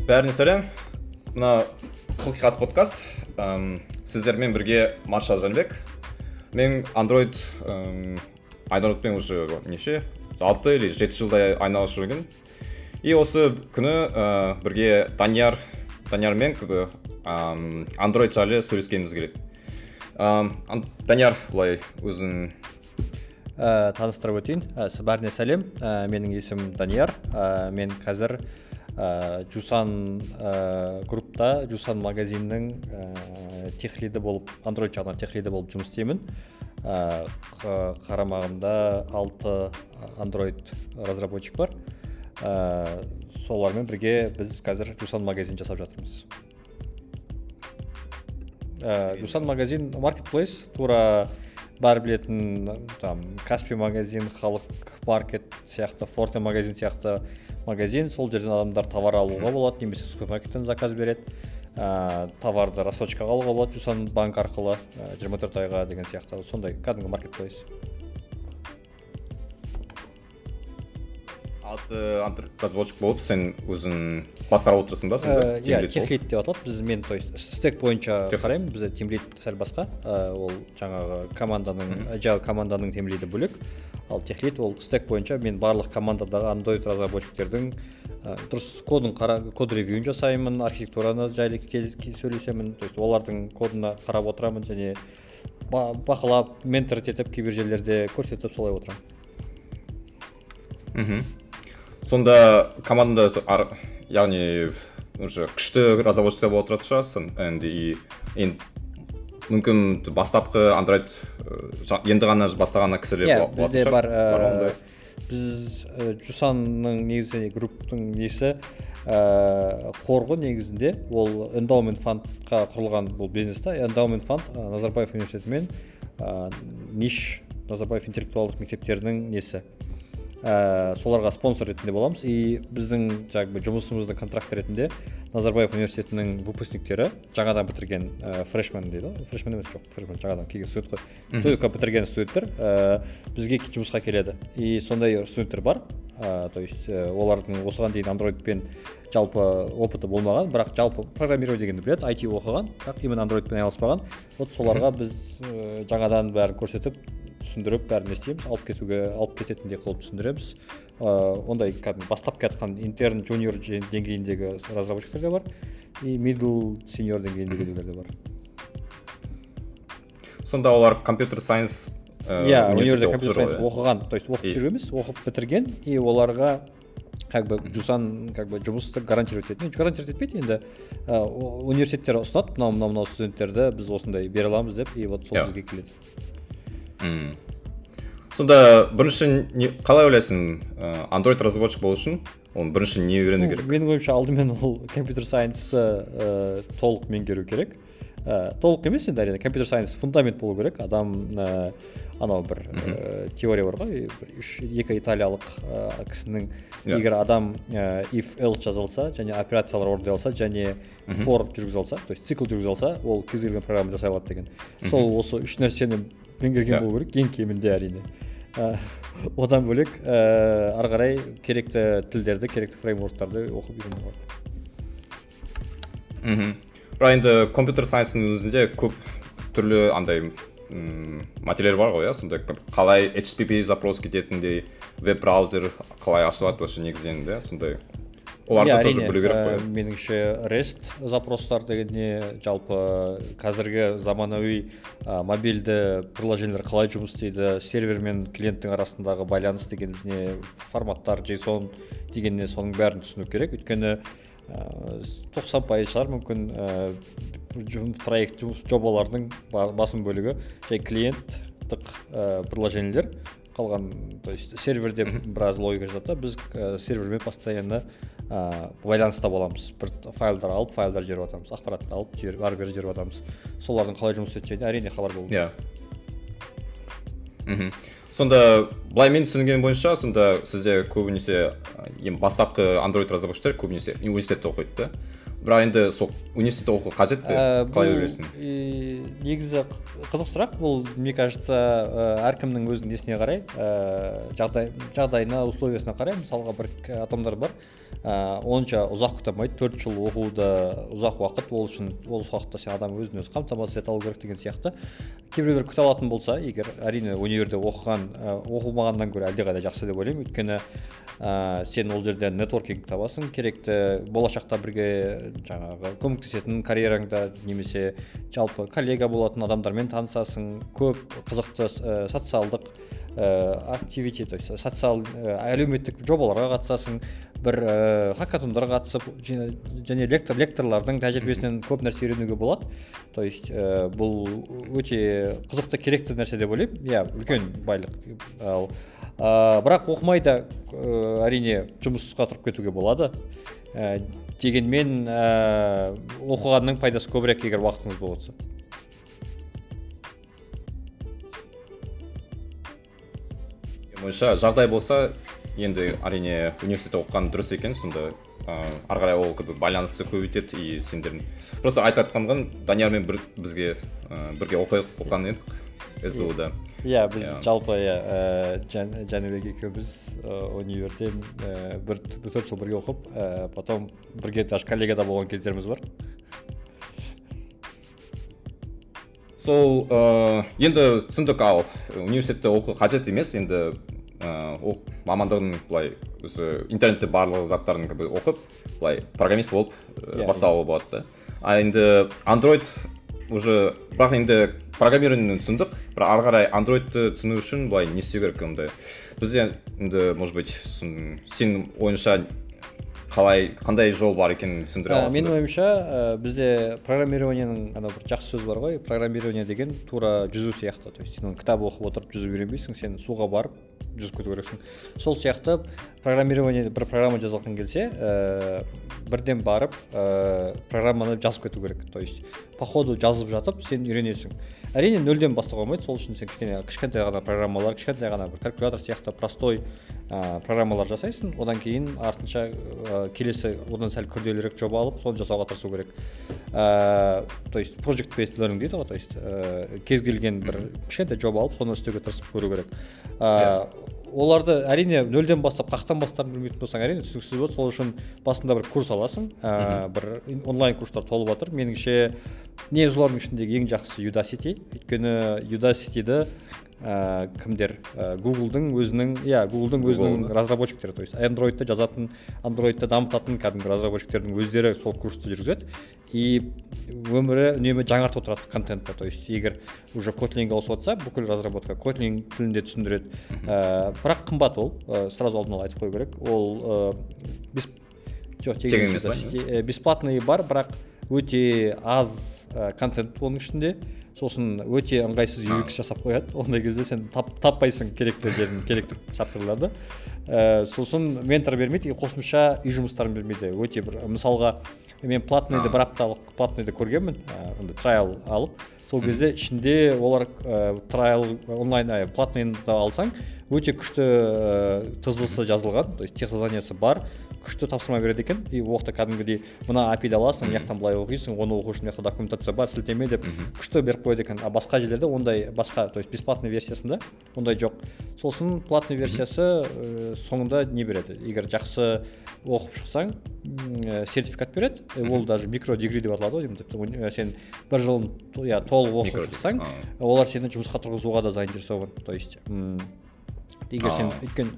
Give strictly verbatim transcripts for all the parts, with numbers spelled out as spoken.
Бәріне сәлем. Мына Қылқиқас подкаст. Сіздермен бірге Маршал Жанбек. Мен Android Androidпен уже неше? алты или жеті жылдай айналысып жүрген. И осы күні бірге Данияр Даниярмен Android жайлы сөйлескеніміз келеді. Данияр, былай өзін таныстырып өтейін. Бәріне сәлем. Менің есімім Данияр. Мен қазір Жусан группта, Жусан магазиннің техлиді болып, Android жағынан техлиді болып жұмыс істеймін. Қарамағымда алты Android разработчик бар. Солармен бірге біз қазір Жусан магазин жасап жатырмыз. Жусан магазин marketplace, тура бар білетін там Каспи магазин, Халық маркет сияқты, Форте магазин сияқты магазин. Сол жерден адамдар товар алуға болады, немесе супермаркеттен заказ береді. Товарды рассрочкаға алуға болады, Жусан банк арқылы жиырма төрт айға деген сияқты. Сондай кәдімгі маркетплейс. Алты разработчик болып, сен өзің басқарып отырсың ба? Иә, техлид деп аталады. Біз мен то есть стек бойынша қараймын. Бізде тимлид сәл басқа. Ол жаңағы команданың, agile команданың тимлиді бөлек. Ал техлид ол стек бойынша мен барлық командадағы Android разработчиктердің дұрыс кодын қара, код ревьюін жасаймын, архитектураны жайлы сөйлесемін. То есть олардың кодына қарап отырамын және бақылап, менторит етіп, кейбір жерлерде көрсетіп солай отырамын. Мхм. Сонда команда, яғни уже күшті разработчиктер болып отырады шығарсың. Енді мүмкін бастапқы Android енді ғана бастағаны кісілер болады. Бізде бар. Біз Жусанның негізі групптың несі қорғы негізінде ол Endowment фондқа құрылған бұл бизнесте. Endowment фонд Назарбаев университеті мен Ниш Назарбаев интеллектуалдық мектептерінің несі. Соларға спонсор ретінде боламыз. И біздің жұмысымыздың контракт ретінде Назарбаев университетінің выпускниктері, жаңадан бітірген фрешмен дейді. Фрешмен емес, жоқ, фрешмен жаңадан келген студент қой. Только бітірген студенттер бізге жұмысқа келеді. И сондай студенттер бар. То есть олардың осыған дейін Androidпен жалпы опыты болмаған, бірақ жалпы программирование дегенді біледі, ай ти оқыған, бірақ именно Androidпен айналыспаған. Вот соларға біз жаңадан бәрін көрсетіп, түсіндіріп, бәрін естейміз, алып кетуге, алып кететіндей қылып түсіндіреміз. Ондай бастап кетқан интерн, junior деңгейіндегі разработчиктер де бар, и middle, senior деңгейіндегілер де бар. Сонда олар компьютер сайенс университетте компьютер сайенс оқыған, то есть оқып жүр емес, оқып бітірген, и оларға как бы Жусан как бы жұмысты гарантировать етеді. Гарантировать етпейді енді. Университеттер ұсынады, мынау мынау мынау студенттерді біз осындай бере аламыз деп, и вот сол бізге келеді. Сонда бірінші қалай ойлайсың, Android разработчик болу үшін оның бірінші не үйрену керек? Менің ойымша алдымен ол компьютер сайенсты толық меңгеру керек. Толық емес енді әрине, компьютер сайенс фундамент болу керек. Адам анау бір теория бар ғой, екі италиялық кісінің егер адам if else жазылса және операциялар орындай алса және for жүргізе алса, то есть цикл жүргізе алса, ол кез келген программа жасай алады деген. Сол осы үш нәрсені меңгерген болу керек, ең кемінде әрине. Одан бөлек ары қарай керекті тілдерді, керекті фреймворктарды оқып үйрену бар. Бірақ енді компьютер сайенсінің өзінде көп түрлі андай материал бар ғой, сонда қалай эйч ти ти пи запрос кететіндей, веб-браузер қалай ашылады вообще негізінде, сондай оларды тоже білу керек қой. Меніңше REST запростар дегенде жалпы қазіргі заманауи мобильді приложениелер қалай жұмыс істейді, сервер мен клиенттің арасындағы байланыс деген форматтар, JSON дегенне соның бәрін түсіну керек. Өйткені тоқсан пайыз шығар мүмкін проект жобалардың басым бөлігі жай клиенттік приложениелер, қалған, то есть серверде біраз логика жатады. Біз сервермен постоянно байланыста боламыз. Бір файлдар алып, файлдар жіберіп атамыз, ақпаратты алып, ары бері жіберіп атамыз. Солардың қалай жұмыс істейтініне әрине хабар болу. Иә. Сонда былай мен түсінген бойынша, сонда сізде көбінесе бастапқы Android разработчиктер көбінесе университетте оқиды да. бірақ енді сол университетте оқу қажет пе, қалай ойлайсың? Негізі қызық сұрақ. Бұл, мне кажется, әркімнің өзінің несіне қарай, жағдайына, условиясына қарай. Мысалға бір адамдар бар, онша ұзақ күтамайды, төрт жыл оқуды ұзақ уақыт, ол үшін ол уақытта сен адам өзін өзі қамтамасыз ете алу керек деген сияқты. Кейбіреулер күте алатын болса, егер әрине универде оқыған, оқымағаннан гөрі әлдеқайда жақсы деп ойлаймын. Өйткені ә, сен ол жерде нетворкинг табасың, керекті болашақта бірге жаңағы көмектесетін карьераңда немесе жалпы коллега болатын адамдармен танысасың, көп қызықты ә, социалдық активити, то есть социал әлеуметтік жобаларға қатысасың, бір хакатондарға қатысып және лектор лекторлардың тәжірибесінен көп нәрсе үйренуге болады. То есть бұл өте қызықты, керекті нәрсе деп ойлаймын. Иә, үлкен байлық. Ал бірақ оқымай да әрине жұмысқа тұрып кетуге болады. Дегенмен оқығанның пайдасы көбірек, егер уақытыңыз болса. Ойша жағдай болса, енді әрине университетте оқыған дұрыс екен, сонда ары қарай ол байланысты көбейтеді, и сендердің просто айтатқанған Даниярмен бір бізге бірге оқыған едік эс ди ода. Иә, біз жалпы Жәнібек екеуміз универден бір төрт жыл бірге оқып, потом бірге даже коллегада болған кездеріміз бар. Сол енді түсіндік, ал университетте оқу қажет емес, енді ол мамандығын былай интернетте барлық заттарын оқып, былай программист болып бастауға болады. А енді Android уже, бірақ енді программированиені түсіндік, бірақ ары қарай Androidты түсіну үшін былай не істеу керек ондай. Бізде енді, может быть, сен ойынша қалай, қандай жол бар екенін түсіндіре аласың? Менің ойымша, бізде программированияның ана бір жақсы сөз бар ғой, программирование деген тура жүзу сияқты. То есть сен кітап оқып отырып жүзіп үйренбейсің, сен суға барып жүзіп кету керексің. Сол сияқты программирование, бір программа жазылған келсе, бірден барып программаны жазып кету керек. То есть по ходу жазып жатып сен үйренесің. Әрине нөлден бастауға болмайды, сол үшін сен кішкене кішкентай ғана программалар, кішкентай ғана бір калькулятор сияқты простой программалар жасайсың, одан кейін артынша келесі одан сәл күрделірек жоба алып, соны жасауға тырысу керек. То есть project based learning дейді ғой, то есть кез келген бір кішкентай жоба алып, соны істеуге тырысып көру керек. Оларды әрине нөлден бастап, қақтан бастап білмейтін болсаң, әрине түсініксіз болады. Сол үшін басында бір курс аласың, бір онлайн курстар толып жатыр. Меніңше не солардың ішіндегі ең жақсы Udacity. Өйткені Udacity'ді кімдер Google'дың өзінің, иә, Google'дың өзінің разработчиктері, то есть Android'та жазатын, Android'та дамытатын кәдімгі разработчиктердің өздері сол курсты жүргізеді. И өмірі үнемі жаңартып отырады контентті. То есть егер уже Kotlin-ге ауысып жатса, бүкіл разработка Kotlin тілінде түсіндіреді. Бірақ қымбат ол, сразу алдын ала айтып қою керек. Ол бесплатный бар, бірақ өте аз контент оның ішінде. Сосын өте ыңғайсыз ю экс жасап қояды. Ондай кезде сен таппайсың керекті жерін, керекті шаптырларды. Сосын ментор бермейді, қосымша үй жұмыстарын бермейді. Өте бір, мысалға, мен платныйды бір апталық платныйды көргенмін, трайл алып. Сол кезде ішінде олар трайл онлайн платныйды алсаң, өте күшті тызылысы жазылған, то есть тех заданиясы бар, күшті тапсырма береді екен. И оқта кәдімгідей мына эй пи ді аласың, яқтан былай оқисың, оны оқу үшін яқта документация бар, сілтеме деп күшті беріп қойды екен. А басқа жерлерде ондай, басқа, то есть бесплатный версиясында ондай жоқ. Сосын платный версиясы соңында не береді? Егер жақсы оқып шықсаң, сертификат береді. Ол даже микро-дегри деп аталады ғой. Сен бір жылын толық оқып шықсаң, олар сені жұмысқа тұрғызуға да заинтересован. То есть егер сен өткен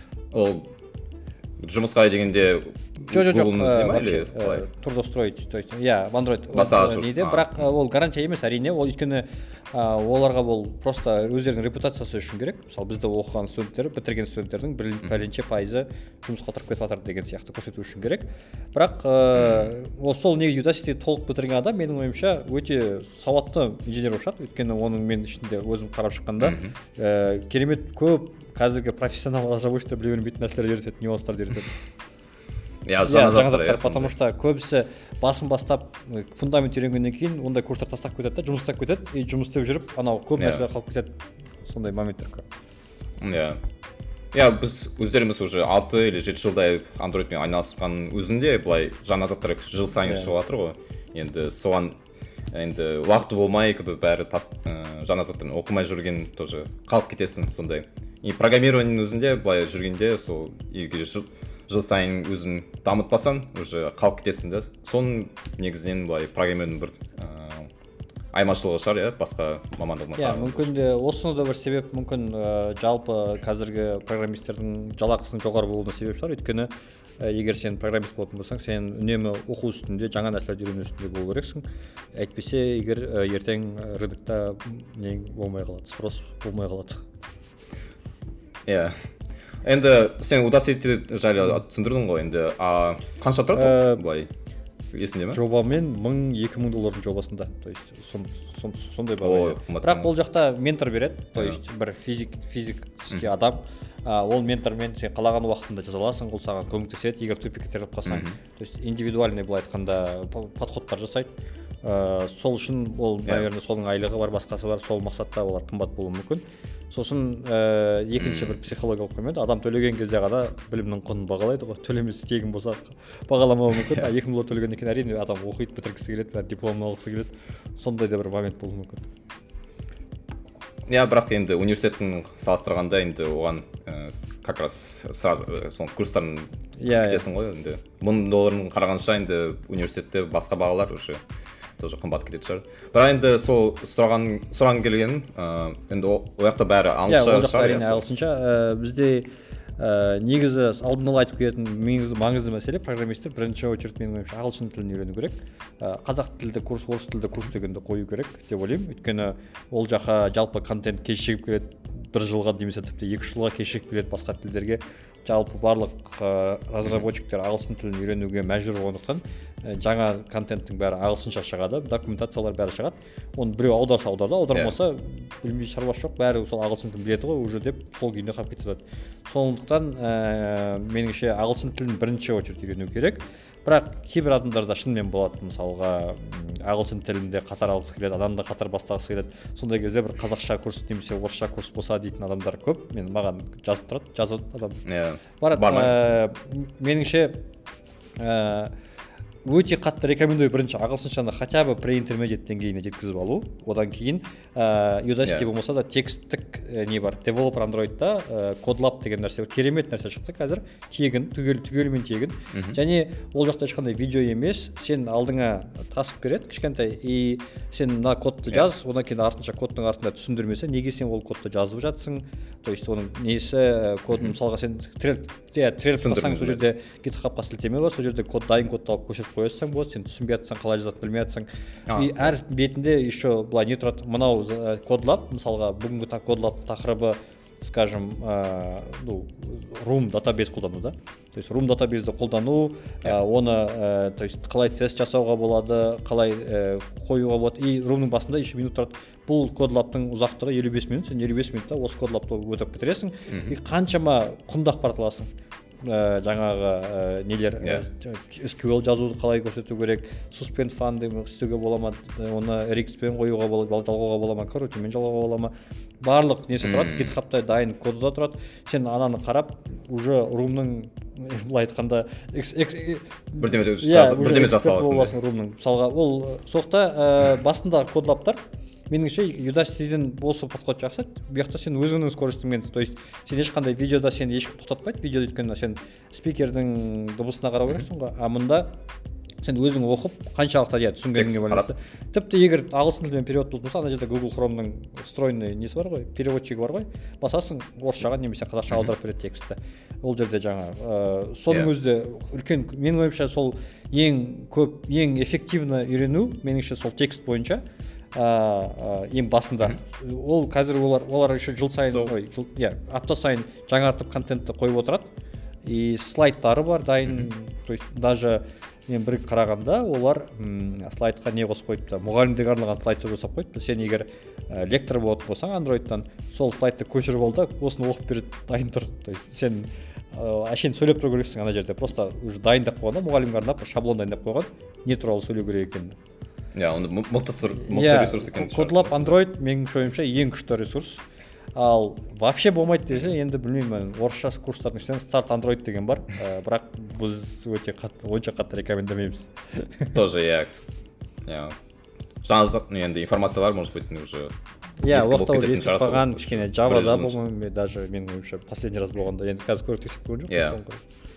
жұмысқа дегенде Google-ның іздеме или қалай? Трудоустроить, то есть, иә, в Android неде, бірақ ол гарантия емес, әрине, ол өйткені оларға ол просто өздерінің репутациясы үшін керек. Мысалы, бізді оқыған студенттер, бітірген студенттердің пәленше пайызы жұмысқа тұрып кетіп жатыр деген сияқты көрсету үшін керек. Бірақ ол сол неге Udacity толық бітірген адам, менің ойымша, өте сауатты инженер болып шығады. Өйткені оның мен ішінде өзім қарап шыққанда керемет көп қазіргі профессионал разработчиктер біле бермейтін нәрселер үйретеді, нюанстарды үйретеді. Ja, жаңа заттар, потому что көбісі басын бастап фундамент үйренгеннен кейін ондай курстар тастап кетеді, жұмыс істеп кетеді, и жұмыс істеп жүріп, анау көп нәрселер қалып кетеді. Сондай моменттер көп. Иә. иә біз өздеріміз уже алты или жеті жылдай андроидпен айналысқан өзінде былай жаңа заттар жыл сайын шығып жатыр ғой. Енді соған енді уақыты болмай бәрі тас жаңа заттарын оқымай жүрген тоже қалып кетесің сондай. И программированиенің өзінде былай жүргенде сол егер жыл сайын өзін дамытпасаң уже қалып кетесің да. Соның негізінен былай программированиенің бір айырмашылығы шығар, иә, басқа мамандығына. Иә, мүмкін де осыны да бір себеп, мүмкін жалпы қазіргі программистердің жалақысының жоғары болуына себеп шығар. Өйткені егер сен программист болатын болсаң, сен үнемі оқу үстінде, жаңа нәрселерді үйрену үстінде болу керексің. Әйтпесе, егер ертең рынокта не болмай қалады, спрос болмай қалады. Иә. Енді сен Udacity жайлы түсіндірдің ғой, енді қанша тұрады былай? Есінде ме? Жобамен мың екі мың доллардың жобасында, то есть сондай баға. Бірақ ол жақта ментор береді, то есть бір физик физический адам, ол ментормен сен қалаған уақытында жаза аласың, ол саған көмектеседі, егер тупикке тіреліп қалсаң. То есть индивидуальный былай айтқанда подходтар жасайды. Сол үшін ол, наверное, соның айлығы бар, басқасы бар, сол мақсатта олар қымбат болуы мүмкін. Сосын екінші бір психологиялық момент, адам төлеген кезде ғана білімнің құнын бағалайды ғой. Төлемесі тегін болса бағаламауы мүмкін. екі мың доллар төлегеннен кейін әрине адам оқиды, бітіргісі келеді, дипломын алғысы келеді. Сондай да бір момент болуы мүмкін. Иә, бірақ енді университеттің салыстырғанда енді оған как раз сразу сол курстарын кетесің ғой. Енді мың долларын қарағанша енді университетте басқа бағалар уже тоже қымбат кететін шығар. Бірақ енді сол сұраған сұраған келген, енді ол жақта бәрі ағылшынша. Иә, ол жақта әрине ағылшынша. Бізде негізі алдын ала айтып келетін маңызды мәселе, программистер бірінші очередь менің ойымша ағылшын тілін үйрену керек. Қазақ тілді курс, орыс тілді курс дегенді қою керек деп ойлаймын. Өйткені ол жаққа жалпы контент кешігіп келеді, бір жылға немесе тіпті екі үш жылға кешігіп келеді басқа тілдерге. Жалпы барлық разработчиктер ағылшын тілін үйренуге мәжбүр болғандықтан жаңа контенттің бәрі ағылшынша шығады, документациялар бәрі шығады. Оны біреу аударса аударды, аудармаса білмей шаруасы жоқ, бәрі сол ағылшын тілін біледі ғой уже деп сол күйінде қалып кетеді. Сондықтан меніңше ағылшын тілін бірінші очередь үйрену керек. Бірақ кейбір адамдарда шынымен болады, мысалға ағылшын тілінде қатар алғысы келеді, адамда қатар бастағысы келеді. Сондай кезде бір қазақша курс немесе орысша курс болса дейтін адамдар көп. Мен маған жазып тұрады, жазады адам. Барады. Меніңше өте қатты рекомендую бірінші ағылшыншаны хотя бы pre-intermediate деңгейіне жеткізіп алу. Одан кейін Udacity болмаса да тексттік не бар, Developer Android'та CodeLab деген нәрсе, керемет нәрсе шықты қазір, тегін, түгелімен тегін. Және ол жақта ешқандай видео емес, сен алдыңа таск береді кішкентай, и сен мына кодты жаз, одан кейін артынша кодтың артында түсіндірмесі, неге сен ол кодты жазып жатсың, то есть оның несі, кодын мысалға сен тіреліп қалсаң, сол жерде GitHub-қа сілтеме бар, сол жерде код дайын кодты алып көрсетіп қоясың болады, сен түсінбей жатсаң, қалай жазатынын білмей жатсың. И әр бетінде еще былай не тұрады, мынау CodeLab, мысалға бүгінгі CodeLab тақырыбы, скажем, ну, Room database қолдану да. То есть Room database-ді қолдану, оны, то есть қалай тест жасауға болады, қалай қоюға болады. И Room-ның басында еще минут тұрады. Бұл CodeLab-тың ұзақтығы елу бес минут, сен елу бес минутта осы CodeLab-ды өтіп бітіресің. И қаншама құнды ақпарат аласың. Жаңағы нелер, эс кью эл жазуды қалай көрсету керек, suspend фанды істеуге бола ма, оны эр икс-пен қоюға бола, жалғауға бола ма, корочемен жалғауға бола ма, барлық несі тұрады, GitHub-та дайын коды да тұрады. Сен ананы қарап, уже Room-ның былай айтқанда бірдеме жасаласың. Мысалға, ол соқта басындағы CodeLab-тар меніңше Udacity-ден осы подход жақсы. Бұяқта сен өзіңнің скоростыңмен, то есть сен ешқандай видеода сен ешкім тоқтатпайды, видеода өйткені сен спикердің дыбысына қарау керексің ғой. А мұнда сен өзің оқып, қаншалықты иә түсінгеніңе байланысты. Тіпті егер ағылшын тілімен перевод болса, ана жерде Google Chrome-ның встроенный несі бар ғой, переводчигі бар ғой. Басасың, орысшаға немесе қазақша аударып береді текстті. Ол жерде жаңа соның өзі үлкен, менің ойымша сол ең көп, ең эффективно үйрену, меніңше сол текст бойынша ең басында. Ол қазір олар олар еще жыл сайын, ой, иә, апта сайын жаңартып контентті қойып отырады. И слайдтары бар дайын, то есть даже мен бір қарағанда олар слайдқа не қосып қойыпты, мұғалімдерге арналған слайд жасап қойыпты. Сен егер лектор болатын болсаң Android-тан, сол слайдты көшіріп ал да, осыны оқып береді, дайын тұр. То есть сен әшейін сөйлеп тұру керексің ана жерде, просто уже дайындап қойған, мұғалімге арнап шаблон дайындап қойған, не туралы сөйлеу керек екенін. Иә, оны мықты ресурс екен. CodeLab Android менің ойымша ең күшті ресурс. ал вообще болмайды десе енді білмеймін, орысша курстардың ішінен старт андроид деген бар, бірақ біз өте қатты онша қатты рекомендамаймыз. Тоже я я жаңа енді информациялар может быть уже иә уақытта уже естіп қалған кішкене Java'да болмаймын, даже менің ойымша последний раз болғанда, енді қазір көріп тексеріп көрген жоқпын.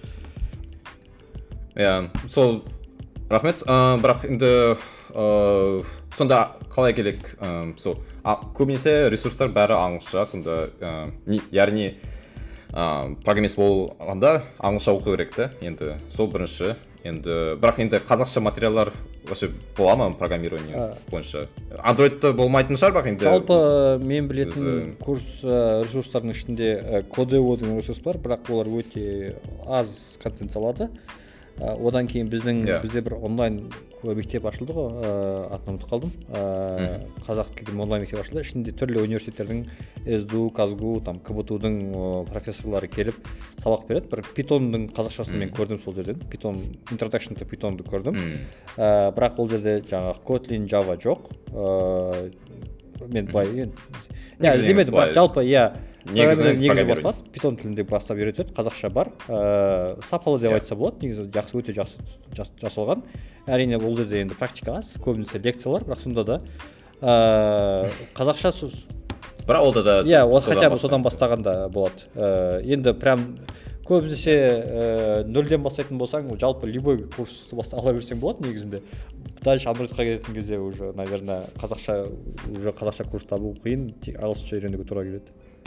иә сол рахмет. Бірақ енді сонда қалай келек, сол көбінесе ресурстар бәрі ағылшынша, сонда яғни программист болғанда ағылшынша оқу керек та, енді сол бірінші. Енді бірақ енді қазақша материалдар вообще бола ма программирование бойынша? Андроидта болмайтын шығар, бірақ енді жалпы мен білетін курс ресурстардың ішінде Codeo деген ресурс бар, бірақ олар өте аз контент салады. Одан кейін біздің бізде бір онлайн мектеп ашылды ғой, атын ұмытып қалдым. Қазақ тілді онлайн мектеп ашылды. Ішінде түрлі университеттердің СДУ, Казгу, там КБТУ-дың профессорлары келіп сабақ береді. Бір Python-дың қазақшасын мен көрдім сол жерден. Python Introduction to Python-ды көрдім. Бірақ ол жерде жаңағы Kotlin, Java жоқ. Мен былай иә іздемедім, бірақ жалпы иә негізі басталады, Python тілінде бастап үйретеді, қазақша бар, сапалы деп айтса болады, негізі жақсы, өте жақсы жасалған. Әрине ол жерде енді практика аз, көбінесе лекциялар, бірақ сонда да қазақша сөз. Бірақ ол да иә, ол хотя бы содан бастағанда болады. Енді прям көбінесе нөлден бастайтын болсаң, жалпы любой курс ала берсең болады негізінде. Дальше андроидқа келетін кезде уже, наверное, қазақша уже қазақша курс табу қиын, ағылшынша үйренуге тура келеді.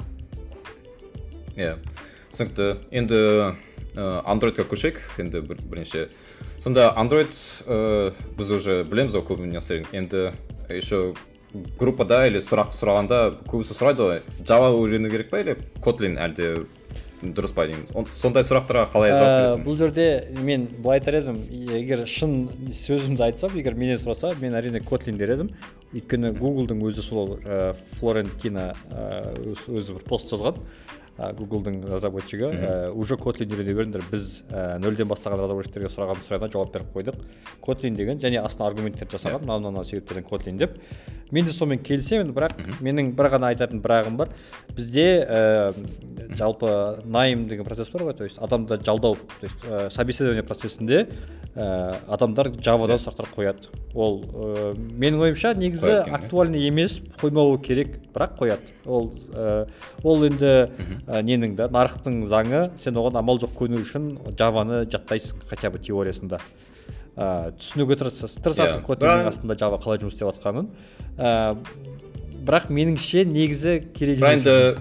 Иә, түсінікті. Енді андроидқа көшейік, енді бірінші. Сонда андроид біз уже білеміз ғой көбіне нәрсе. Енді еще группада или сұрақ сұрағанда көбісі сұрайды ғой, Java үйрену керек па или Kotlin әлде дұрыс па дейміз. Сондай сұрақтарға қалай жауап бересің? Бұл жерде мен былай айтар едім, егер шын сөзімді айтсам, егер менен сұраса, мен әрине Kotlin дер едім. Өйткені Google-дың өзі сол Флорентина өзі бір пост жазған. Google-дың разработчигі уже Kotlin үйрене беріңдер, біз нөлден бастаған разработчиктерге сұраған сұрағына жауап беріп қойдық. Kotlin деген және астына аргументтер жасаған, мынау-мынау себептерден Kotlin деп. Мен де сонымен келісемін, бірақ менің бір ғана айтатын бірағым бар. Бізде жалпы найм деген процесс бар ғой, то есть адамды жалдау, то есть собеседование процесінде адамдар Java-дан сұрақтар қояды. Ол менің ойымша негізі актуальный емес, қоймауы керек, бірақ қояды. Ол ол енді ненің да, нарықтың заңы, сен оған амал жоқ көну үшін Java-ны жаттайсың, хотя бы теориясында. Түсінуге тырысасың Kotlin-нің астында Java қалай жұмыс істеп жатқанын. Бірақ меніңше негізі керек емес.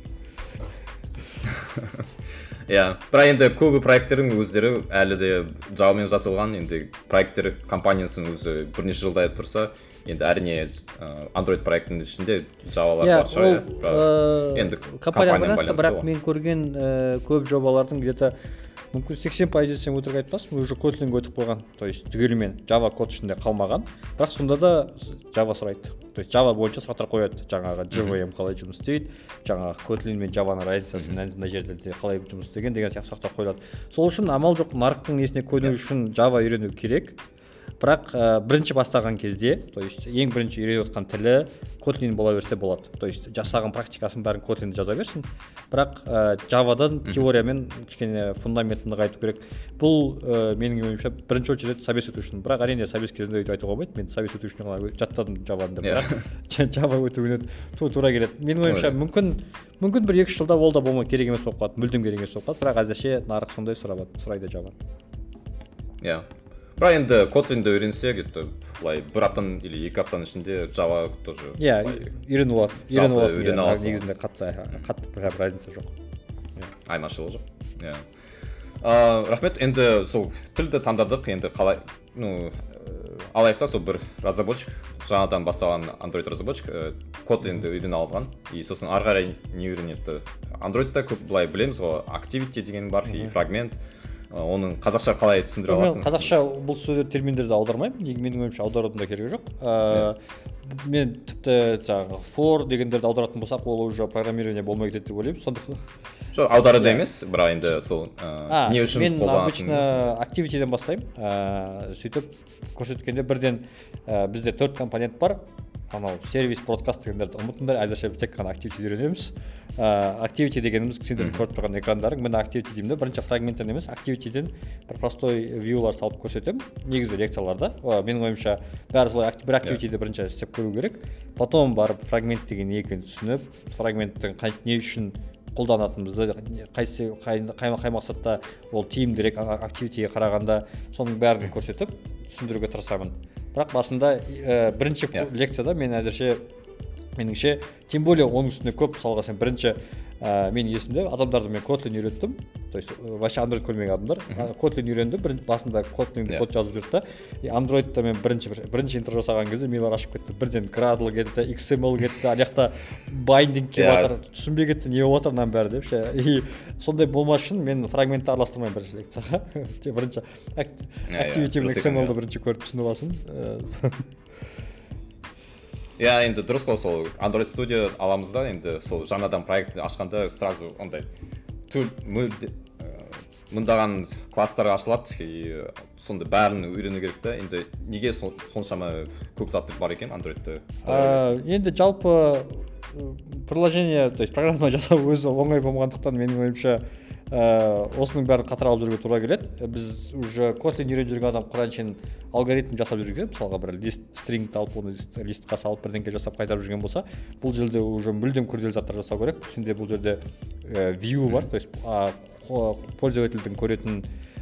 Иә, бірақ енді көбі проекттердің өздері әлі де Java-мен жасалған, енді проекттер компаниясының өзі бірнеше жылдай тұрса, енді әрине Android проектінің ішінде Java-лар бар шығар. Енді компанияның байланысы. Бірақ мен көрген көп жобалардың где-то мүмкін сексен пайыз десем өтірік айтпаспын, уже Kotlin-ге өтіп қойған, то есть түгелімен Java код ішінде қалмаған, бірақ сонда да Java сұрайды. То есть Java бойынша сұрақтар қояды, жаңағы джей ви эм қалай жұмыс істейді, жаңағы Kotlin мен Java-ның разницасы мына жерде қалай жұмыс істеген деген сияқты сұрақтар қойылады. Сол үшін амал жоқ, нарықтың несіне көну үшін Java үйрену керек. Бірақ бірінші бастаған кезде, то есть ең бірінші үйреніп отқан тілі Kotlin бола берсе болады. То есть жасаған практикасын бәрін Kotlin-де жаза берсін. Бірақ Java-дан теориямен кішкене фундаментін нығайту керек. Бұл менің ойымша бірінші очередь собес өту үшін. Бірақ әрине собес кезінде өйтіп айтуға болмайды. Мен собес өту үшін ғана жаттадым Java-ны деп, бірақ Java өтуіне тура келеді. Менің ойымша мүмкін мүмкін бір екі жылда ол да болмай керек емес болып қалады, мүлдем керек емес болып қалады. Бірақ әзірше нарық сондай сұрайды Java. Иә. Бірақ енді Kotlin-ді үйренсе, где-то былай бір аптаның или екі аптаның ішінде Java тоже. Иә, үйреніп алады. Үйреніп аласың. Негізінде қатты қатты бір разница жоқ. Айырмашылық жоқ. Иә. Рахмет. Енді сол тілді таңдадық. Енді қалай, ну, алайықта сол бір разработчик, жаңадан бастаған Android разработчик Kotlin-ді үйрене алған. И сосын ары қарай не үйренеді? Android-та көп былай білеміз ғой, activity деген бар, и фрагмент. Оның қазақша қалай түсіндіре аласың? Қазақша бұл сөздер терминдерді аудармаймын. Менің ойымша аударудың да керегі жоқ. Мен тіпті жаңағы for дегендерді аударатын болсақ, ол уже программирование болмай кетеді деп ойлаймын. Сондықтан жоқ, аударуды емес, бірақ енді сол не үшін қолданатын? Мен обычно activity-ден бастаймын. Сөйтіп көрсеткенде бірден бізде төрт компонент бар. анау сервис бродкаст дегендерді ұмытыңдар, әзірше тек қана активити үйренеміз. Активити дегеніміз сендер көріп тұрған экрандарың, міне активити деймін, бірінші фрагменттен емес, активитиден бір простой вьюлар салып көрсетемін негізі лекцияларда. Менің ойымша бәрі солай бір активитиді бірінші істеп көру керек, потом барып фрагмент деген не екенін түсініп, фрагменттің не үшін қолданатынымызды, қай, қай, қай мақсатта ол тиімдірек активитиге қарағанда соның бәрін көрсетіп түсіндіруге тырысамын. Бірақ басында ә, бірінші yeah. лекцияда мен әзірше меніңше, тем более оның үстіне көп, мысалға сен бірінші ә, мен есімде адамдарды мен Kotlin үйреттім, то есть вообще Android көрмеген адамдар, Kotlin үйренді, бір, басында Kotlin yeah. код жазып жүрді да, и Android'та мен бірінші, бірінші интро жасаған кезде милар ашып кетті, бірден Gradle кетті, икс эм эл кетті, аяқта binding келіп жатыр, түсінбей кетті, не болып жатыр мынаның бәрі деп ше, и сондай болмас үшін мен фрагментті араластырмаймын бірінші лекцияға, бірінші activity мен икс эм элді бірінші көріп түсініп алсын. Иә, енді дұрыс қой, сол Android Studio аламыз да, енді сол жаңадан проект ашқанда сразу ондай мыңдаған класстар ашылады, и сонда бәрін үйрену керек та, енді неге соншама көп заттар бар екен Android'та? Енді жалпы приложение, то есть программа жасау өзі оңай болмағандықтан менің ойымша осының бәрін қатар алып жүруге тура келеді. Біз уже Kotlin үйреніп жүрген адам құраншен алгоритм жасап жүрген, мысалға бір лист стрингті алып, оны листқа салып бірдеңке жасап қайтарып жүрген болса, бұл жерде уже мүлдем күрделі заттар жасау керек. Үстінде бұл жерде view бар, то есть пользовательдің көретін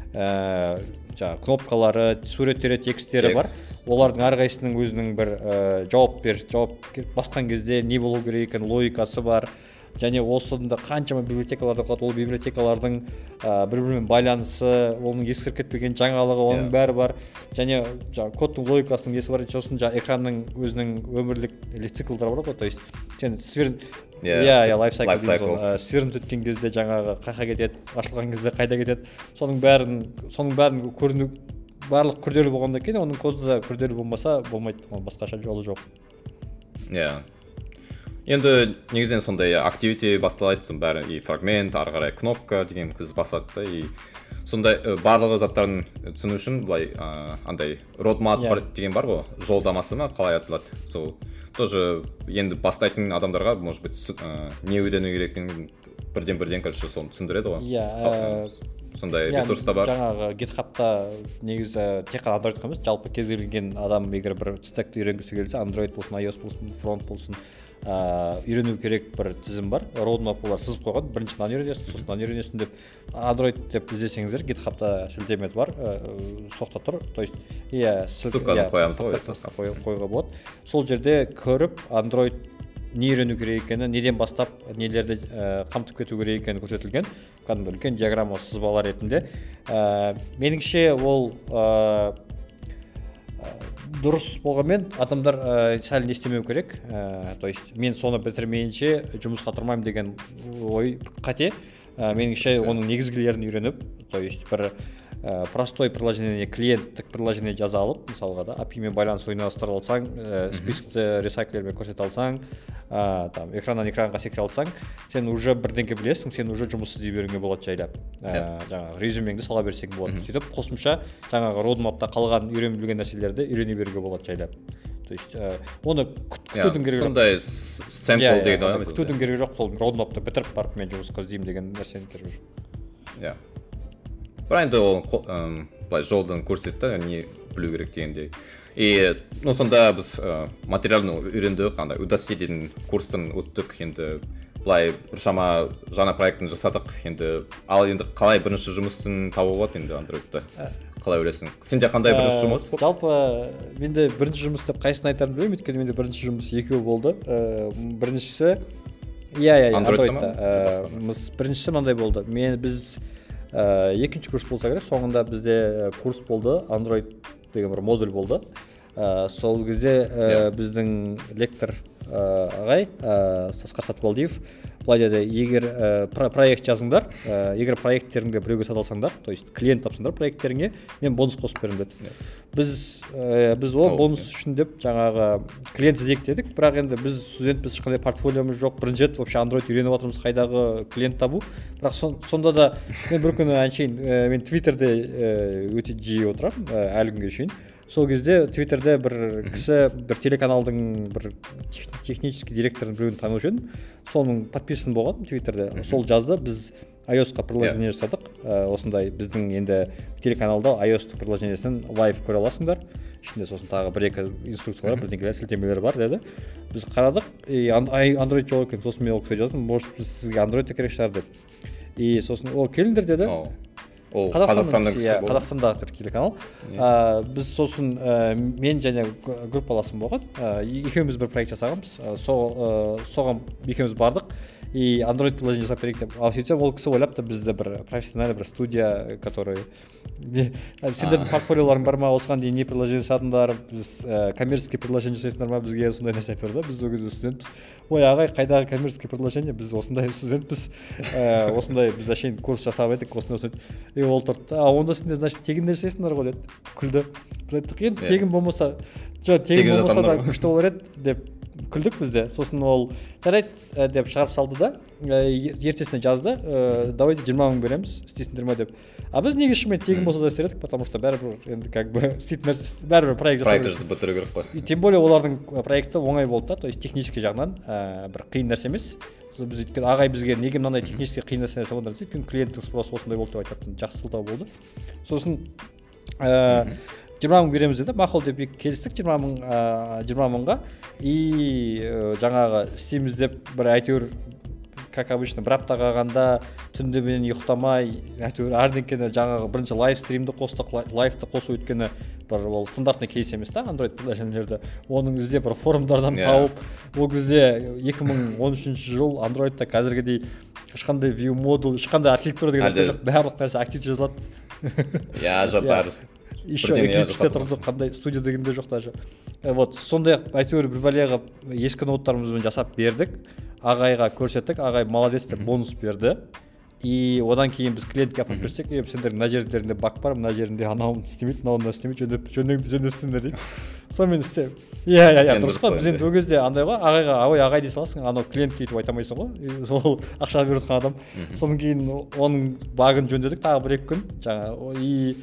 жаңағы кнопкалары, суреттері, тексттері бар. Олардың әрқайсының өзінің бір жауап бер, жауап басқан кезде не болу керек екен, логикасы бар. Және осында қаншама библиотекаларды қалады, ол библиотекалардың бір-бірімен байланысы, оның ескіріп кетпеген жаңалығы, оның бәрі бар. Және кодтың логикасының несі бар, сосын экранның өзінің өмірлік циклдары бар ғой, то есть сен сверн иә, лайфсайкл сверніп өткен кезде жаңағы қайда кетеді, ашылған кезде қайда кетеді, соның бәрін соның бәрін көріну барлық күрделі болғаннан кейін оның коды да күрделі болмаса болмайды, басқаша жолы жоқ. Иә. Енді негізінен сондай активити басталайды, сон бәрі и фрагмент, ары қарай кнопка деген қыз басады да, и сондай барлығы заттарын түсіну үшін былай андай roadmap yeah. деген бар ғой, жолдамасы ма қалай аталады, сол тоже енді бастайтын адамдарға может быть не үйрену керек екенін бірден-бірден короче соны түсіндіреді ғой. Иә, сондай ресурста бар. Жаңағы GitHub'та негізі тек қана Android емес, жалпы кез келген адам егер бір стекті үйренгісі келсе, Android болсын, iOS болсын, фронт болсын, үйрену керек бір тізім бар. Roadmap олар сызып қойған, бірінші мынаны үйренесің, сосын мынаны үйренесің деп. Android деп іздесеңіздер, GitHub'та шілтеметі бар, соқта тұр. То есть, иә, ссылканы қоямыз ғой, қоюға болады. Сол жерде көріп, Android не үйрену керек екені, неден бастап нелерді қамтып кету керек екені көрсетілген. Кәдімгі үлкен диаграмма сызбалар ретінде. Меніңше ол дұрыс болғанмен адамдар сәл не істемеу керек. То есть мен соны бітірмейінше жұмысқа тұрмаймын деген ой қате. Меніңше оның негізгілерін үйреніп, то есть бір простой приложение, клиенттік приложение жаза алып, мысалға да, эй пи ай мен байланыс ойналастыра алсаң, спискті ресайклермен көрсете алсаң, там экраннан экранға секіре алсаң, сен уже бірдеңке білесің, сен уже жұмыс іздей беруіңе болады жайлап. Жаңағы резюмеңді сала берсең болады. Сөйтіп қосымша жаңағы roadmap'та қалған үйреніп білген нәрселерді үйрене беруге болады жайлап. То есть оны күтудің керегі жоқ. Сондай сэмпл дейді ғой. Күтудің керегі жоқ, сол roadmap'ты бітіріп барып мен жұмысқа іздеймін деген нәрсені керегі жоқ. Иә. Бірақ енді ол былай жолдан көрсетті, не білу керек дегендей. И ну сонда біз материалны үйрендік, андай Udacity деген курстан өттік, енді былай біршама жаңа проектін жасадық, енді ал енді қалай бірінші жұмысын табу болады енді Android'та? Қалай ойлайсың? Сенде қандай бірінші жұмыс? Жалпы менде бірінші жұмыс деп қайсысын айтарымды білмеймін, өйткені менде бірінші жұмыс екеуі болды. Біріншісі иә, иә, Android'та. Біріншісі мынандай болды. Мен біз екінші курс болса керек, соңында бізде курс болды, Android деген бір модуль болды. Сол кезде біздің лектор ағай Сасқар Сатыбалдиев былай деді, егер проект жазыңдар, егер проекттеріңді біреуге сата алсаңдар, то есть клиент тапсаңдар проекттеріңе, мен бонус қосып беремін деді. Біз біз ол бонус үшін деп жаңағы клиент іздейік дедік, бірақ енді біз студентпіз, ешқандай портфолиомыз жоқ, бірінші рет вообще Android үйреніп жатырмыз, қайдағы клиент табу. Бірақ сонда да мен бір күні әншейін мен Twitterде өте жиі отырамын әлі күнге шейін. сол кезде твиттерде бір кісі бір телеканалдың бір технический директорын біреуін танушы едім, соның подписан болған твиттерде. Сол жазды, біз iOS-қа приложение жасадық, осындай біздің енді телеканалда iOS приложениесін лайв көре аласыңдар, ішінде сосын тағы бір-екі инструкциялар, бірдеңелер, сілтемелер бар деді. Біз қарадық, и Android жоқ екен, сосын мен ол кісіге жаздым, может біз сізге Android керек шығар деп. И сосын о келіңдер деді. Ол Қазақстанның кісі болды. Қазақстандағы телеканал. Біз сосын мен және группаласым болған, екеуміз бір проект жасағанбыз, соған екеуміз бардық. И Android приложение жасап берейік деп. Ал сөйтсем ол кісі ойлапты бізді бір профессиональный бір студия, который сендердің портфолиоларың бар ма, осыған дейін не приложение жасадыңдар, біз коммерческий приложение жасайсыңдар ма, бізге сондай нәрсе айтып да, біз ол кезде студентпіз. Ой ағай, қайдағы коммерческий приложение, біз осындай студентпіз, осындай біз әшейін курс жасап едік, осындай осындай. И ол тұрды, а онда сендер значит тегін жасайсыңдар ғой деді. Күлді. Біз айттық, енді тегін болмаса, жоқ тегін болмаса да күшті болар еді деп күлдік бізде. Сосын ол жарайды деп шығарып салды да, ертесіне жазды, давайте жиырма мың береміз, істейсіңдер ме деп. А біз неге шынымен тегін болса да істер едік, потому что бәрібір енді как бы істейтін нәрсе, бәрібір проект жасау жасап бітіру керек қой. Тем более олардың проекті оңай болды да, то есть технический жағынан бір қиын нәрсе емес. Біз өйткені ағай бізге неге мынандай технический қиын нәрсе жасағандар дейді, өйткені клиенттің спросы осындай болды деп айтатын, жақсы сылтау болды. Сосын жиырма мың береміз деді, мақұл деп келістік жиырма мың жиырма мыңға. И жаңағы істейміз деп бір әйтеуір как обычно бір апта қалғанда түнде мен ұйықтамай әйтеуір әрдеңкені жаңағы бірінші лайв стримді қостық, лайвты қосу өйткені бір ол стандартный кейс емес та Android приложениелерді, оның іздеп бір форумдардан тауып, ол кезде екі мың он үшінші жыл Androidта қазіргідей ешқандай view модуль, ешқандай архитектура деген нәрсе жоқ, барлық нәрсе активті жазылады. Иә, жоқ бәрі. Еще эклипсте тұрды, қандай студия дегенде жоқ даже. Вот сондай әйтеуір бір бәлеға ескі ноуттарымызбен жасап бердік, ағайға көрсеттік, ағай молодец деп бонус берді. И одан кейін біз клиентке апарып берсек, сендердің мына жердерінде баг бар, мына жерінде анауын істемейді, мынауын істемейді, жөндеңді жөндестіңдер дейді. Сонымен істе. Иә, иә, иә, дұрыс қой. Біз енді ол кезде андай ғой, ағайға ой ағай дей саласың, анау клиентке өйтіп айта алмайсың ғой. Сол ақша беріп жатқан адам. Содан кейін оның багын жөндедік тағы бір-екі күн. Жаңа и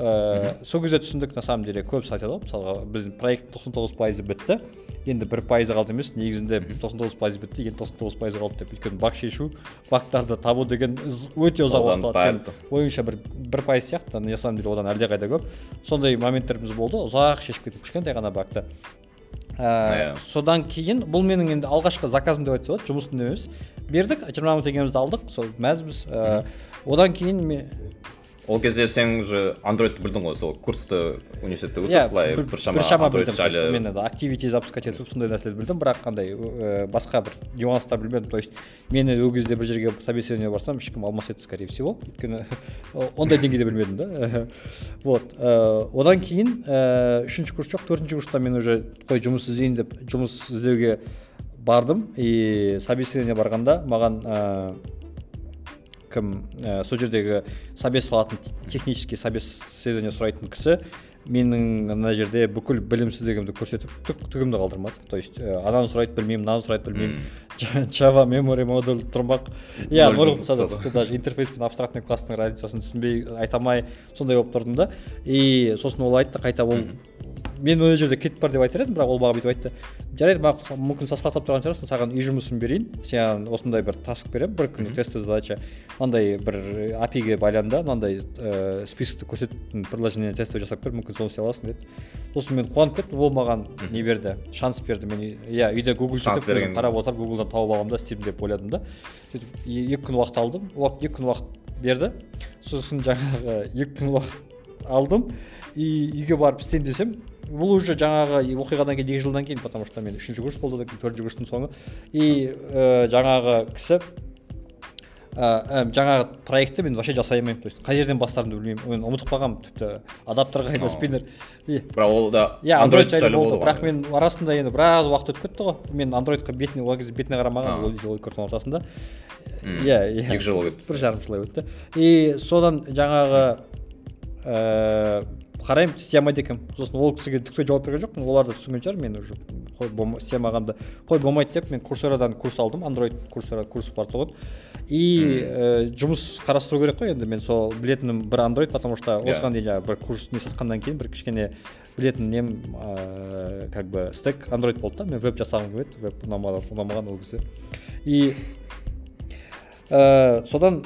сол кезде түсіндік, на самом деле көбісі айтады ғой, мысалға біздің проект тоқсан тоғыз пайызы бітті. Енді бір пайызы қалды емес, негізінде тоқсан тоғыз пайыз бітті, енді тоқсан тоғыз пайызы қалды деп. Өйткені баг шешу, багтарды табу деген өте ұзақ уақыт алады. Ойынша бір бір пайыз сияқты, на самом деле одан әлдеқайда көп. Сондай моменттеріміз болды, ұзақ шешіп кетіп кішкентай ғана багты. Содан кейін бұл менің енді алғашқы заказым деп айтса болады, жұмыстың емес. Бердік, жиырма мың теңгемізді алдық, сол мәзбіз. Одан кейін мен ол кезде сен уже Android білдің ғой, сол курсты университетте өтіп, былай біршама Android жайлы. Мен енді activity запускать етіп сондай нәрселерді білдім, бірақ қандай басқа бір нюанстар білмедім. То есть мені ол кезде бір жерге собеседование барсам, ешкім алмас еді, скорее всего. Өйткені ондай деңгейде білмедім да. Вот. Одан кейін үшінші курс жоқ, төртінші курста мен уже қой жұмыс іздейін деп жұмыс іздеуге бардым. И собеседование барғанда маған кім сол жердегі собес алатын технический собеседование сұрайтын кісі менің мына жерде бүкіл білімсіздігімді көрсетіп түгімді қалдырмады. То есть ананы сұрайды білмеймін, мынаны сұрайды білмеймін. Java memory модуль тұрмақ. Иә, нөл болса да тіпті даже интерфейс пен абстрактный класстың разницасын түсінбей айтамай сондай болып тұрдым да. И сосын ол айтты, қайта ол мен ол жерде кетіп бар деп айтар едім, бірақ ол маған бүйтіп айтты. Жарайды, маған мүмкін сасқақтап тұрған шығарсың, саған үй жұмысын берейін, сен осындай бір таск беремін, бір күндік тестовый задача, мынандай бір эй пи айге байланды, мынандай списокты көрсететін приложение тестовый жасап бер, мүмкін соны істей аласың деді. Сосын мен қуанып кеттім, ол маған не берді, шанс берді. Мен иә, үйде Google жетіп қарап отырып, Google-дан тауып аламын да, істеймін деп ойладым да. Сөйтіп екі күн уақыт алдым, екі күн уақыт берді. Сосын жаңағы екі күн уақыт алдым и үйге барып істейін десем, бұл уже жаңағы оқиғадан кейін екі жылдан кейін, потому что мен үшінші курс болды, төртінші курстың соңы. И жаңағы кісі жаңағы проектті мен вообще жасай алмаймын. То есть қай жерден бастарымды білмеймін. Мен ұмытып қалғанмын, тіпті адаптер қайда, спиннер. Бірақ ол да Android жайлы болды. Бірақ мен арасында енді біраз уақыт өтіп кетті ғой. Мен Androidқа бетіне, ол кезде бетіне қарамаған, ол курстың ортасында. Иә, иә. екі жыл өтті. бір жарым жыл өтті. И содан жаңағы қараймын, істей алмайды екенмін. Сосын ол кісіге түксе жауап берген жоқпын. Олар да түсінген шығар, мен уже қой істей алмағанымды. Қой болмайды деп мен Курсерадан курс алдым, Android Курсера курсы бар тұғын. и ә, жұмыс қарастыру керек қой енді. Мен сол білетінім бір Android, потому что осыған дейін жаңағы бір курс не сатқаннан кейін бір кішкене білетін нем ә, как бы стек Android болды да. Мен веб жасағым келеді, веб ұнамаған ол кезде. И ә, содан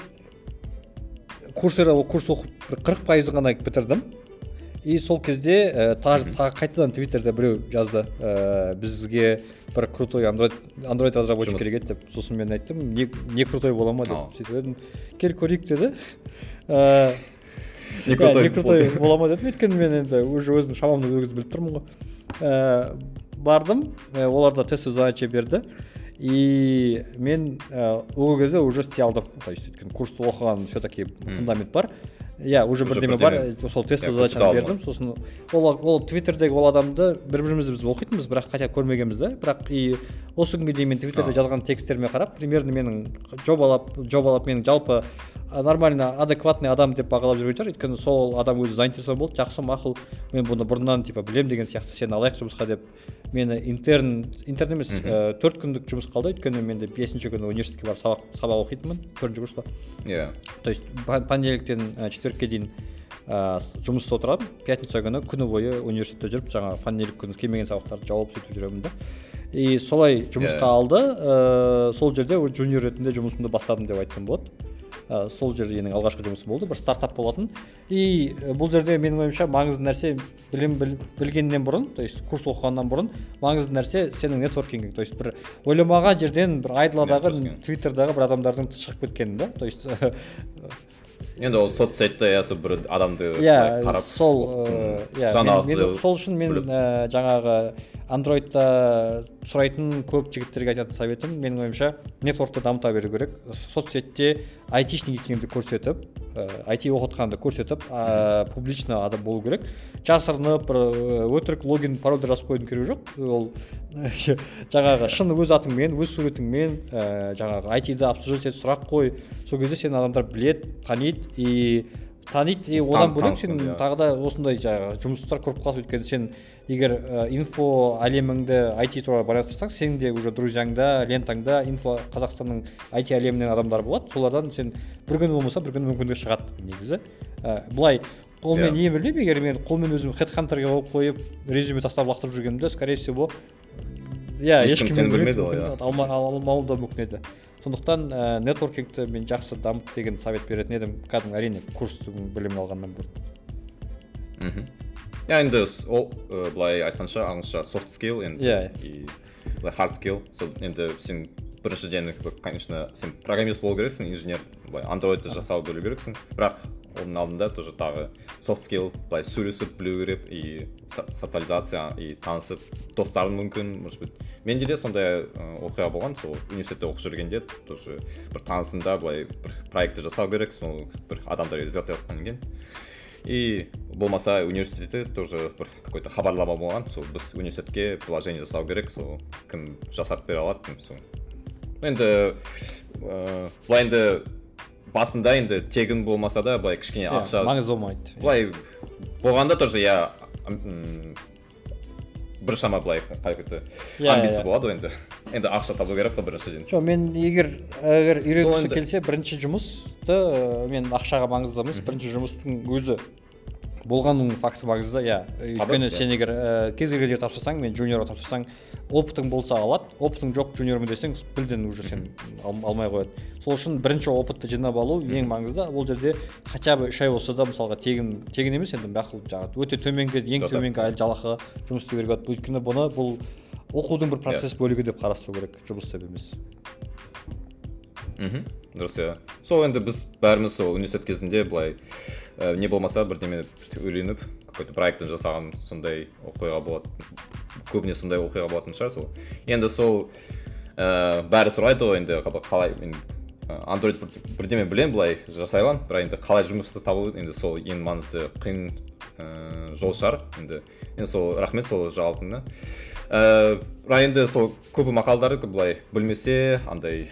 курсера курс оқып қырық пайызын ғана бітірдім. И сол кезде ә, тағы та, қайтадан Твиттерде біреу жазды, ә, бізге бір крутой Android Android разработчик керек еді деп. Сосын мен айттым, не, не крутой бола ма деп. Сөйтіп едім, кел көрейік деді. Ә, не крутой, не крутой бола ма дедім. Өйткені мен енді уже өзім шамамды өгіз біліп тұрмын ғой. Ә, бардым, ә, олар да тестовый задача берді. И мен ә, ол кезде уже істей алдым. То есть өйткені курсты оқыған все-таки фундамент бар. Иә, уже бірдеме бар, сол тестовый задачаны бердім. Сосын ол, ол Твиттердегі ол адамды бір-бірімізді біз оқитынбыз, бірақ хотя көрмегенбіз да. Бірақ и осы күнге дейін мен Твиттерде жазған тексттеріме қарап, примерно менің жобалап, жобалап менің жалпы нормально, адекватный адам деп бағалап жүрген шығар. Өйткені сол адам өзі заинтересован болды, жақсы, мақұл, мен бұны бұрыннан типа білем деген сияқты, сені алайық жұмысқа деп. Мені интерн, интерн емес, төрт күндік жұмыс қалды, өйткені менде бесінші күні университетке барып сабақ, сабақ оқитынмын, төртінші курста. Иә. То есть понедельниктен четвертке дейін ә, жұмыста отырамын, пятница күні күні бойы университетте жүріп, жаңа понедельник күні келмеген сабақтарды жауап сөйтіп жүремін да. И солай жұмысқа алды, ә, сол жерде жуниор ретінде жұмысымды бастадым деп айтсам болады. Ә, сол жерде менің алғашқы жұмысым болды, бір стартап болатын. И бұл жерде менің ойымша маңызды нәрсе білім біл, білгеннен бұрын, то есть курс оқығаннан бұрын маңызды нәрсе сенің нетворкингің. То есть бір ойламаған жерден бір айдладағы Твиттердағы бір адамдардың шығып кеткені да. То есть енді ол соцсетте ясы бір адамды қарап сол жаңалықты. Сол үшін мен ә, жаңағы Androidта сұрайтын көп жігіттерге айтатын советім, менің ойымша нетворкты дамыта беру керек. Соцсетте айтишник екеніңді көрсетіп, ай ти оқытқанды көрсетіп, ә, публично адам болу керек. Жасырынып, өтірік логин, парольді жазып қойдың керегі жоқ. Ол жаңағы шын өз атыңмен, өз суретіңмен, ә, жаңағы ай ти-ді обсуждать етіп сұрақ қой. Сол кезде сені адамдар білет, таниды и таниды, и одан бөлек сен тағы да осындай жаңағы жұмыстар көріп қаласың. Өйткені сен егер ә, инфо әлеміңді ай ти туралы байланыстырсаң, сенің де уже друзьяңда, лентаңда инфо Қазақстанның ай ти әлемінен адамдар болады. Солардан сен бір күні болмаса бір күні мүмкіндік шығады негізі. Ә, былай қолмен yeah. ең білмеймін, егер мен қолмен өзім хедхантерге болып қойып, резюме тастап лақтырып жүргенімде, скорее всего, иә, ешкім сені білмейді ғой, алмауы да мүмкін еді. Сондықтан ә, нетворкингті мен жақсы дамыт деген совет беретін едім, кәдімгі әрине курстың білімін алғаннан бұрын. Ja, енді ол былай айтқанша ағылшынша soft skill енді и hard skill. So енді сен біріншіден, конечно, сен программист болу керексің, инженер, былай Androidты жасау білу керексің. Бірақ оның алдында тоже тағы soft skill, былай сөйлесіп білу керек и социализация и танысып, достарың мүмкін, может быть. Менде де сондай оқиға болған, сол университетте оқып жүргенде тоже бір танысында былай бір проектті жасау керек, сол бір адамдар іздеп жатқан екен. И болмаса университетте тоже бір какой-то хабарлама болған, сол біз университетке приложение жасау керек, сол кім жасап бере алады, сол. Енді былай енді басында енді тегін болмаса да былай кішкене ақша маңызды болмайды. Былай болғанда тоже я бір шама былай какой-то амбиция болады енді. Енді ақша табу керек қой біріншіден. Жоқ, мен егер егер үйренгісі келсе, бірінші жұмысты мен ақшаға маңызды емес, бірінші жұмыстың өзі болғанның факті маңызды, иә. Өйткені сен егер кез келген жерге тапсырсаң, мен жуниорға тапсырсаң, опытың болса алады, опытың жоқ жуниормын десең, білден уже сен алмай қояды. Сол үшін бірінші опытты жинап алу ең маңызды. Ол жерде хотя бы үш ай болса да, мысалға тегін тегін емес, енді бақыл жаңағы өте төменгі, ең төменгі жалақыға жұмыс істеу керек. Өйткені бұны бұл оқудың бір процесс бөлігі деп қарастыру керек, жұмыс деп емес. Мхм. Дұрыс, иә. Сол енді біз бәріміз сол университет кезінде былай не болмаса бірдеме үйреніп, какой-то проекттің жасаған сондай оқиға болады. Көбіне сондай оқиға болатын шығар сол. Енді сол бәрі сұрайды ғой енді қалай мен Android бірдеме білем былай жасай аламын, бірақ енді қалай жұмысты табу енді сол ең маңызды қиын жол шығар. Енді енді сол рахмет сол жауабыңа. Бірақ енді сол көбі мақалдары былай білмесе, андай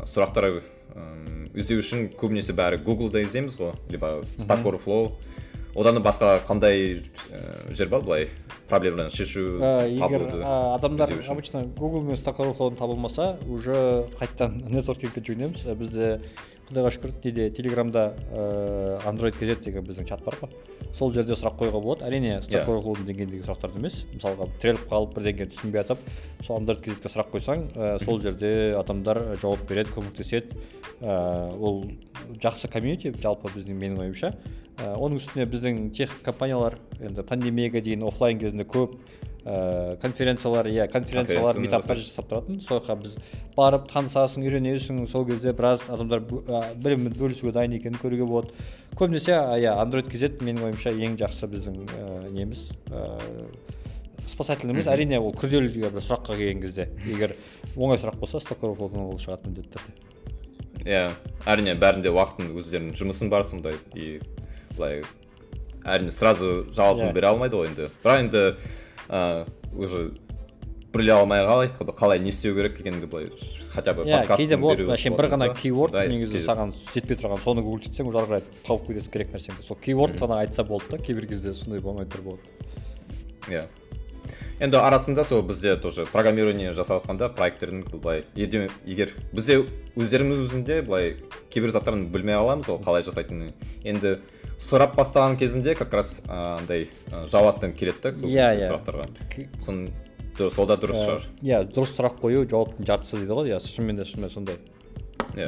сұрақтар іздеу үшін көбінесе бәрі Google-да іздейміз ғой, либо Stack Overflow. одан басқа қандай жер бар былай проблемаларын шешу егер адамдар обычно Google мен Stack Overflow'дан табылмаса уже қайтадан нетворкингке жүгінеміз. Бізде құдайға шүкір неде Телеграмда Android кз деген біздің чат бар ғой, сол жерде сұрақ қоюға болады. Әрине Stack Overflow'дың деңгейіндегі сұрақтарды емес, мысалға тіреліп қалып бірдеңе түсінбей жатып сол Android кзге сұрақ қойсаң, сол жерде адамдар жауап береді, көмектеседі. Ол жақсы комьюнити жалпы біздің менің ойымша. Оның үстіне біздің тех компаниялар енді пандемияға дейін офлайн кезінде көп конференциялар, иә, конференциялар метаптар жасап тұратын. Соға біз барып танысасың, үйренесің, сол кезде біраз адамдар білімін бөлісуге дайын екенін көруге болады. Көбінесе иә, Android кз менің ойымша ең жақсы біздің неміз спасательный емес. Әрине ол күрделі бір сұраққа келген кезде, егер оңай сұрақ болса, Stack Overflow'дан ол шығады міндетті түрде. Иә, әрине бәрінде уақытын өздерінің жұмысын бар сондай, и былай әрине сразу жауабын бере алмайды ғой енді. Бірақ енді уже біле алмай қалай, қалай не істеу керек екенді былай хотя бы подсказканы беру. Иә, бір ғана keyword негізі саған жетпей тұрған, соны гуглдесең уже ары қарай тауып кетесің керек нәрсеңді. Сол keyword ғана айтса болды да, кейбір кезде сондай болмай тұр болады. Иә. Енді арасында сол бізде тоже программирование жасап жатқанда проекттердің былай егер бізде өздеріміз өзінде былай кейбір заттарын білмей қаламыз ол қалай жасайтынын. Енді сұрап бастаған кезінде как раз андай жауаптан келеді да сұрақтарға. Соны сол да дұрыс шығар. Иә, дұрыс сұрақ қою жауаптың жартысы дейді ғой. Иә, шынымен де шынымен сондай. Иә.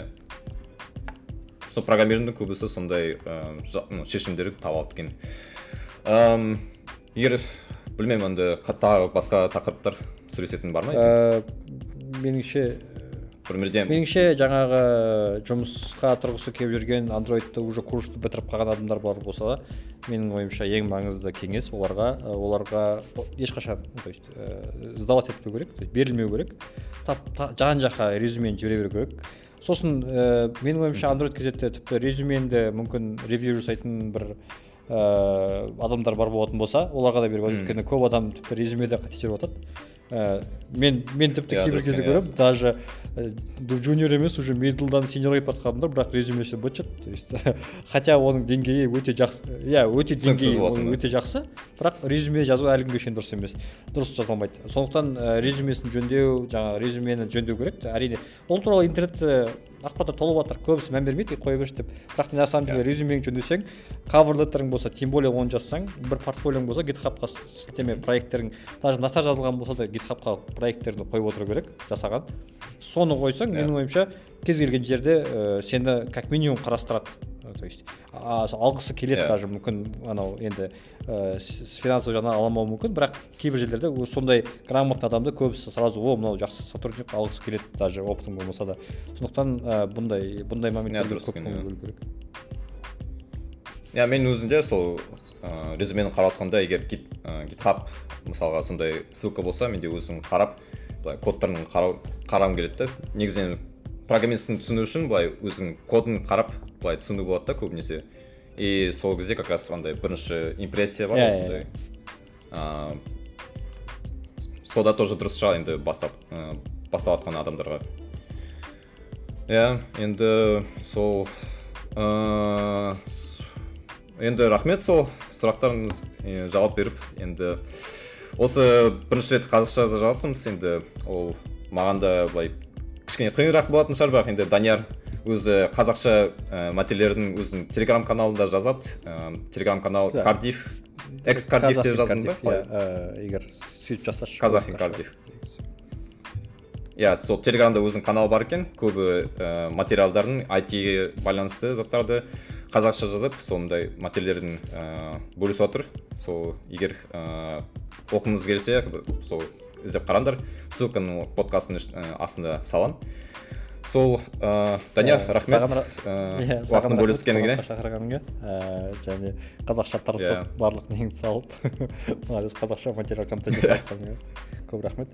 Сол программированың көбісі сондай шешімдерді таба алады екен. Егер білмеймін, енді тағы басқа тақырыптар сөйлесетін бар ма? Меніңше меніңше жаңағы жұмысқа тұрғысы келіп жүрген Android'ты уже курсты бітіріп қалған адамдар бар болса да, менің ойымша ең маңызды кеңес оларға оларға ешқашан, то есть сдавать етпеу керек, то есть берілмеу керек, жан-жаққа резюмені жібере беру керек. Сосын менің ойымша Android кзетте тіпті резюменді мүмкін ревью жасайтын бір адамдар бар болатын болса, оларға да беріп өйткені көп адам тіпті резюмеде қате жіберіп жатады. Мен мен тіпті кейбір кезде көріп, даже junior емес, уже middle'дан seniorға кетіп жатқандар, бірақ резюмесі быт-шыт. То есть хотя оның деңгейі өте жақсы, иә, өте деңгейі өте жақсы, бірақ резюме жазу әлі күнге шейін дұрыс емес. Дұрыс жазылмайды. Сондықтан резюмесін жөндеу, жаңағы резюмені жөндеу керек. Әрине, ол туралы интернетте ақпараттар толып жатыр, көбісі мән бермейді, қоя берші деп. Бірақ на самом деле резюмеңді жөндесең, cover letterің болса, тем более оны жазсаң, бір портфолиоң болса, GitHub-қа сілтеме проекттерің, даже насар жазылған болса да GitHub-қа проекттеріңді қойып отыру керек, жасаған. Соны қойсаң, менің ойымша, кез келген жерде сені как минимум қарастырады. То есть алғысы келеді даже мүмкін анау енді финансовый жағынан аламауы мүмкін, бірақ кейбір жерлерде сондай грамотный адамды көбісі сразу о мынау жақсы сотрудник алғысы келеді, даже опытың болмаса да. Сондықтан бұндай бұндай моменттерге көп көңіл бөлу керек. Иә, мен өзінде сол резюмені қарап жатқанда, егер GitHub мысалға сондай ссылка болса, менде өзім қарап, кодтарын қарағым келеді. Негізінен программисттің түсіну үшін былай өзің кодын қарап былай түсіну болады да көбінесе. И сол кезде как раз андай бірінші импрессия бар осындай. Сода тоже дұрыс шығар енді бастап бастап жатқан адамдарға. Иә, енді сол енді рахмет сол сұрақтарыңыз жауап беріп, енді осы бірінші рет қазақша жауаптымыз, енді ол маған да былай кішкене қиынырақ болатын шығар, бірақ енді Данияр өзі қазақша материалдердің өзінің телеграм-каналында жазады. Телеграм-канал Кардиф, экс-Кардиф деп жаздың ба? Егер сөйтіп жасашы. Казахин Кардиф. Иә, сол телеграмда өзінің каналы бар екен, көбі материалдардың ай ти-ге байланысты заттарды қазақша жазып, сондай материалдердің бөлісіп отыр. Сол егер оқыңыз келсе, сол іздеп қараңдар, ссылканы подкастың астында салам. Сол Данияр, рахмет уақытын бөліскеніңе. Шақырғаныңа және қазақша тырысып барлық неңді салып, молодец, қазақша материал контент жасағаныңа көп рахмет.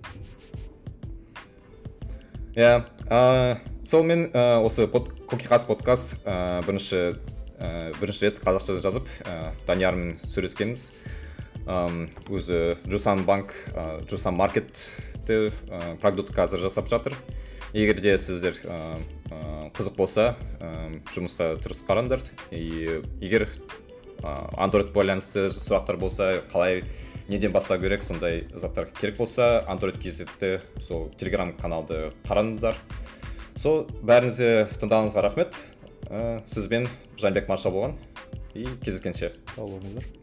Иә, сол мен осы Кокихас подкаст бірінші бірінші рет қазақша жазып Даниярмен сөйлескеніміз. Өзі Жусан банк, Жусан маркетті продукт қазір жасап жатыр. Егер де сіздер қызық болса, жұмысқа тұрыс қараңдар. Егер Android байланысты сұрақтар болса, қалай неден бастау керек, сондай заттар керек болса, Android кезетті сол Telegram каналды қараңыздар. Сол бәріңізге тыңдағаныңызға рахмет. Сізбен Жанбек Марша болған. И кездескенше. Сау болыңыздар.